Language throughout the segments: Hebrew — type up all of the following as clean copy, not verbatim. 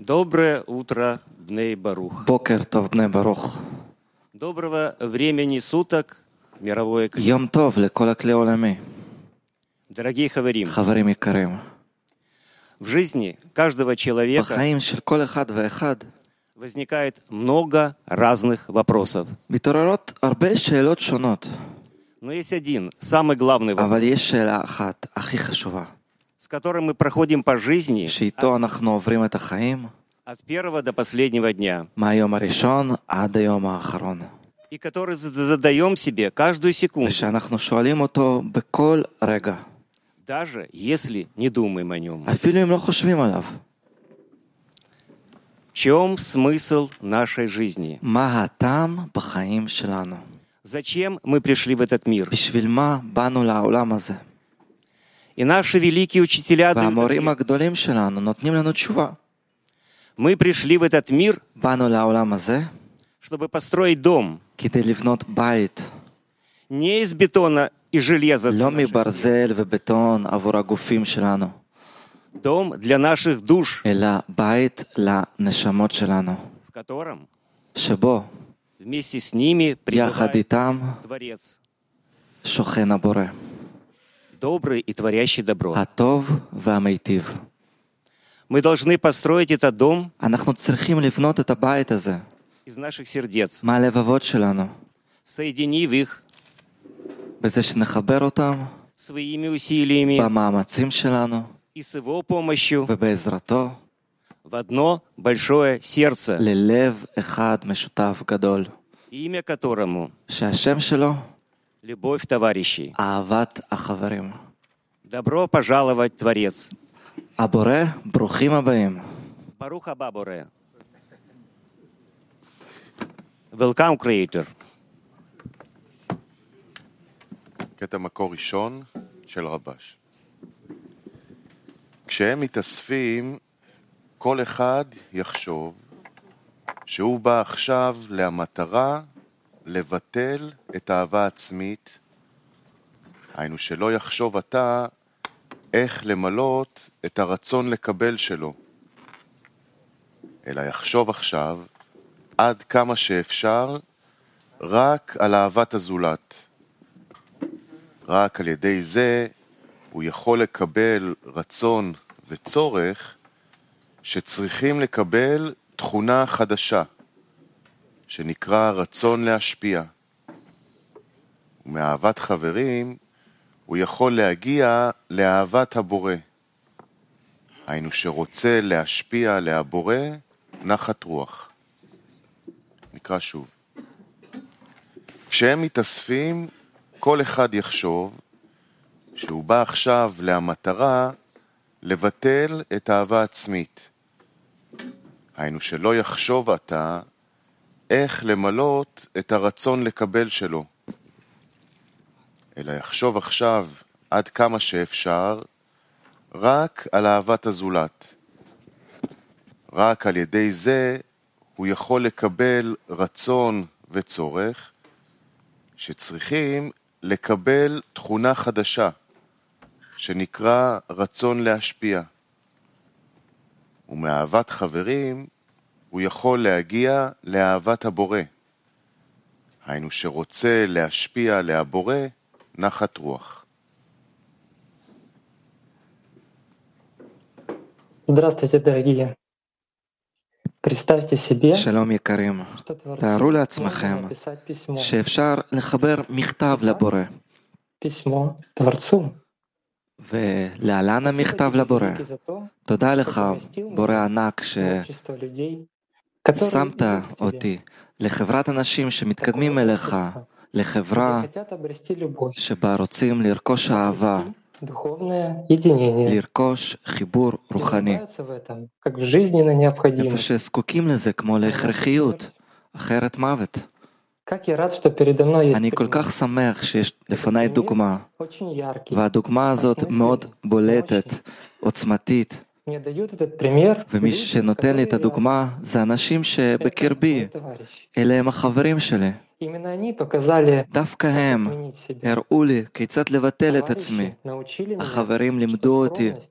Доброе утро, Бней Барух. בוקר טוב בני ברוך. Доброго времени суток, мировое клей. יום טוב לכל הכלי העולמי. Дорогие хаварим, חברים יקרים, в жизни каждого человека בחיים של כל אחד ואחד возникает много разных вопросов. מתעוררות הרבה שאלות שונות, Но есть один, самый главный вопрос, אבל יש שאלה אחת הכי חשובה, с которым мы проходим по жизни שאיתו אנחנו עוברים את החיים от первого до последнего дня, מהיום הראשון עד היום האחרון, и который задаем себе каждую секунду, ושאנחנו שואלים אותו בכל רגע, даже если не думаем о нем. אפילו אם לא חושבים עליו. В чем смысл нашей жизни? מה הטעם בחיים שלנו? Зачем мы пришли в этот мир? בשביל מה באנו לעולם הזה? И наши великие учителя дают והמורים ответ. הגדולים שלנו נותנים לנו תשובה. Мы пришли в этот мир, באנו לעולם הזה чтобы построить дом, כדי לבנות בית, не из бетона и железа, לא מברזל ובטון עבור הגופים שלנו, дом для наших душ, אלא בית לנשמות שלנו, в котором שבו вместе с ними יחד пребывает איתם Творец, שוכן הבורא, добрый и творящий добро. הטוב והמיטיב. Мы должны построить этот дом אנחנו צריכים לבנות את הבית הזה из наших сердец, מהלבבות שלנו, соединив их בזה שנחבר אותם своими усилиями במאמצים שלנו и с его помощью ובעזרתו в одно большое сердце, ללב אחד משותף גדול, имя которому שהשם שלו любовь товарищей. אהבת החברים. Добро пожаловать, Творец. הבורא, ברוכים הבאים. Барух хаба боре. Welcome, Creator. קטע מקור ראשון של רבש. כשהם מתאספים, כל אחד יחשוב שהוא בא עכשיו למטרה לבטל את האהבה העצמית, היינו שלא יחשוב אתה איך למלות את הרצון לקבל שלו, אלא יחשוב עכשיו עד כמה שאפשר רק על אהבת הזולת. רק על ידי זה הוא יכול לקבל רצון וצורך שצריכים לקבל תכונה חדשה, שנקרא רצון להשפיע. ומאהבת חברים הוא יכול להגיע לאהבת הבורא. היינו שרוצה להשפיע להבורא נחת רוח. נקרא שוב. כשהם מתאספים, כל אחד יחשוב שהוא בא עכשיו למטרה לבטל את האהבה העצמית. היינו שלא יחשוב אתה איך למלות את הרצון לקבל שלו, אלא יחשוב עכשיו עד כמה שאפשר רק על אהבת הזולת. רק על ידי זה הוא יכול לקבל רצון וצורך שצריכים לקבל תכונה חדשה שנקרא רצון להשפיע. ומאהבת חברים הוא יכול להגיע לאהבת הבורא. היינו שרוצה להשפיע להבורא נחת רוח. Здравствуйте, дорогие. Представьте себе, שלום יקרים, что תארו Творцу לעצמכם можно написать письмо. שאפשר לחבר מכתב לבורא, Письмо Творцу. ולהלן המכתב לבורא. Великий за то, תודה что לך, поместил בורא меня ענק, в общество людей, которые ששמת идут к тебе, אותי לחברת אנשים שמתקדמים אליך, לחברה где хотят обрести любовь, שבה רוצים לרכוש אהבה, духовное единение. לרכוש חיבור И רוחני, нуждаются в этом, как в жизненно איפה необходимо. שזקוקים לזה כמו להכרחיות, אחרת מוות. Как я рад, что передо мной есть אני כל пример. כך שמח שיש לפניי דוגמה, Очень яркий. והדוגמה הזאת מאוד בולטת, עוצמתית, Мне дают этот пример ומי люди, שנותן לי את которые הדוגמה זה אנשים это שבקרבי, мои товарищи. אלה הם החברים שלי. Именно они показали, דווקא как הם изменить себя. הראו לי כיצד לבטל את Товарищи עצמי. научили меня החברים что לימדו אותי скромность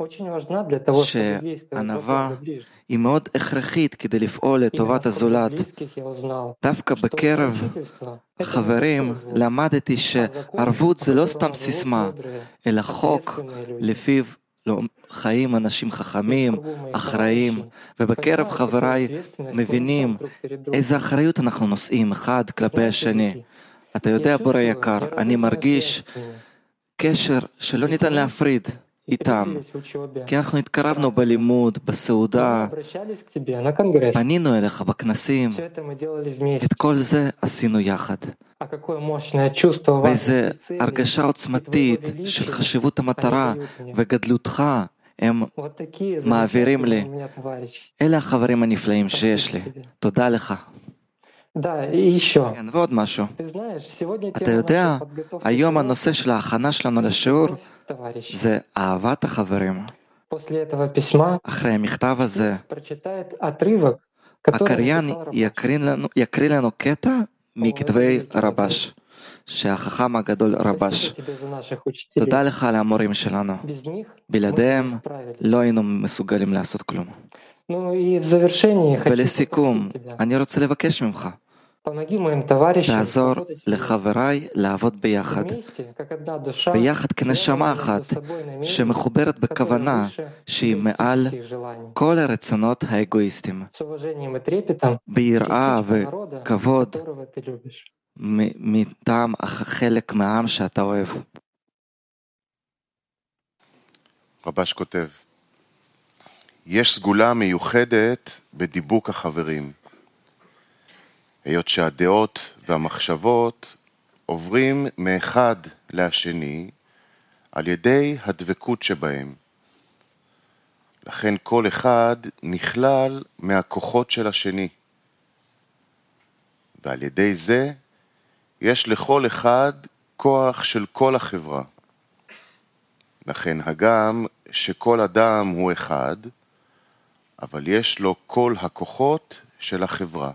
очень важна для того, чтобы действовать во שענווה благо ближних. היא מאוד הכרחית כדי לפעול Именно לטובת в кругу הזולת. близких я узнал, דווקא что בקרב поручительство — это не החברים пустой звук, למדתי а закон, שערבות по זה לא которому סתם живут סיסמה, мудрые, אלא חוק ответственные люди. לפיו חיים אנשים И в חכמים, кругу моих אחראים, товарищей ובקרב понимают, какую חבריי ответственность мы מבינים несем друг перед другом. איזה אחריות אנחנו נושאים אחד И כלפי знаете, השני. дорогие, אתה я יודע, בורא чувствую יקר, אני неразрывную מרגיש связь с ними. קשר שלא Ведь ניתן мы להפריד איתם, приблизились в учебе, כי אנחנו в התקרבנו практике. בלימוד, Мы בסעודה, обращались к тебе на конгресс. פנינו אליך בכנסים, Все это мы делали את вместе. כל זה עשינו יחד. А какое мощное чувство ואיזה важности целей הרגשה и твоего עוצמתית של величия חשיבות они המטרה дают мне. וגדלותך הם Вот такие מעבירים замечательные לי. у меня товарищи. אלה החברים הנפלאים Спасибо שיש לי. тебе. תודה לך. Да, и еще. כן, ועוד משהו. Ты знаешь, сегодня אתה тема יודע, нашей подготовки היום к הנושא של ההכנה שלנו урокам — לשיעור любовь товарищей. זה אהבת החברים. После этого письма אחרי המכתב הזה, Певец прочитает отрывок, который הקריין написал Рабаш. יקריא לנו קטע מכתבי великий רבש, שהחכם הגדול רבש. Спасибо тебе за наших תודה учителей. לך על המורים שלנו. Без них мы бы בלעדיהם не справились. לא היינו מסוגלים לעשות כלום. Ну и в завершении хочу ולסיכום, попросить тебя, אני רוצה לבקש ממך, помоги моим товарищам תעזור работать вместе. לחבריי לעבוד ביחד, Вместе, как одна душа, ביחד כנשמה связанные между אחת, собой намерения, שמחוברת которые בכוונה выше שהיא מעל эгоистических желаний. כל הרצונות האגואיסטיים, С уважением и трепетом ביראה частичка народа, וכבוד которого ты любишь. מטעם חלק מהעם שאתה אוהב. רבש כותב, יש סגולה מיוחדת בדיבוק החברים, היות שהדעות והמחשבות עוברים מאחד לשני על ידי הדבקות שבהם. לכן כל אחד נכלל מהכוחות של השני, ועל ידי זה יש לכל אחד כוח של כל החברה. לכן הגם שכל אדם הוא אחד, אבל יש לו כל הכוחות של החברה.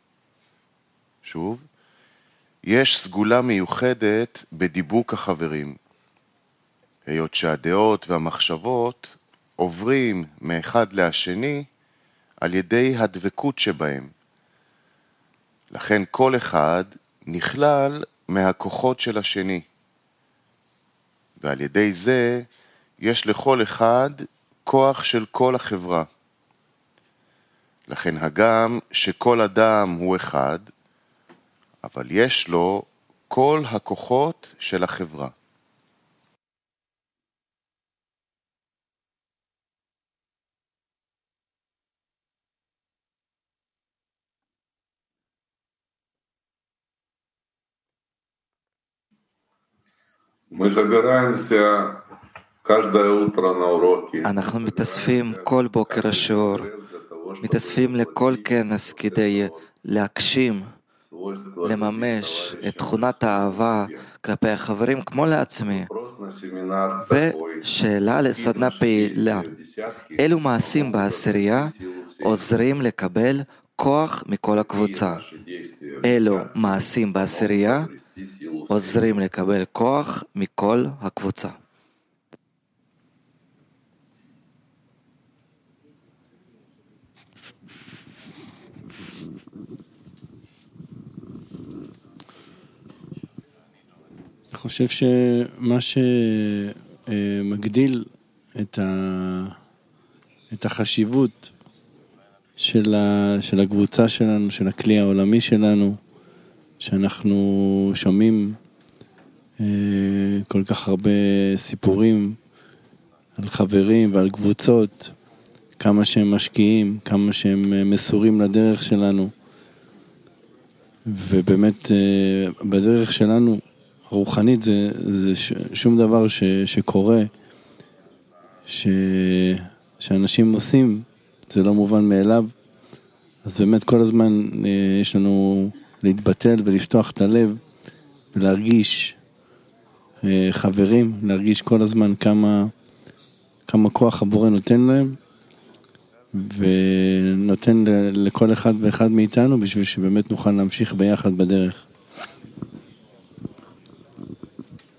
שוב, יש סגולה מיוחדת בדיבוק החברים, היות שהדעות והמחשבות עוברים מאחד לשני על ידי הדבקות שבהם. לכן כל אחד נכלל מהכוחות של השני, ועל ידי זה יש לכל אחד כוח של כל החברה. לכן הגם שכל אדם הוא אחד, אבל יש לו כל הכוחות של החברה. Мы собираемся каждое утро на уроки. אנחנו מתאספים כל בוקר לשיעור, מתאספים לכל כנס כדי להגשים, לממש את תכונת האהבה כלפי החברים כמו לעצמי. ושאלה לסדנה פעילה, אילו מעשים בעשירייה עוזרים לקבל כוח מכל הקבוצה? אילו מעשים בעשירייה עוזרים לקבל כוח מכל הקבוצה? אני חושב שמה שמגדיל את החשיבות של הקבוצה שלנו, של הכלי העולמי שלנו, שאנחנו שומעים כל כך הרבה סיפורים על חברים ועל קבוצות, כמה שהם משקיעים, כמה שהם מסורים לדרך שלנו, ובאמת בדרך שלנו הרוחנית זה שום דבר שקורה, שאנשים עושים, זה לא מובן מאליו. אז באמת כל הזמן יש לנו להתבטל ולפתוח את הלב ולהרגיש חברים, להרגיש כל הזמן כמה כוח הבורא נותן להם, ונותן לכל אחד ואחד מאיתנו בשביל שבאמת נוכל להמשיך ביחד בדרך.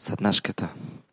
סדנה שקטה.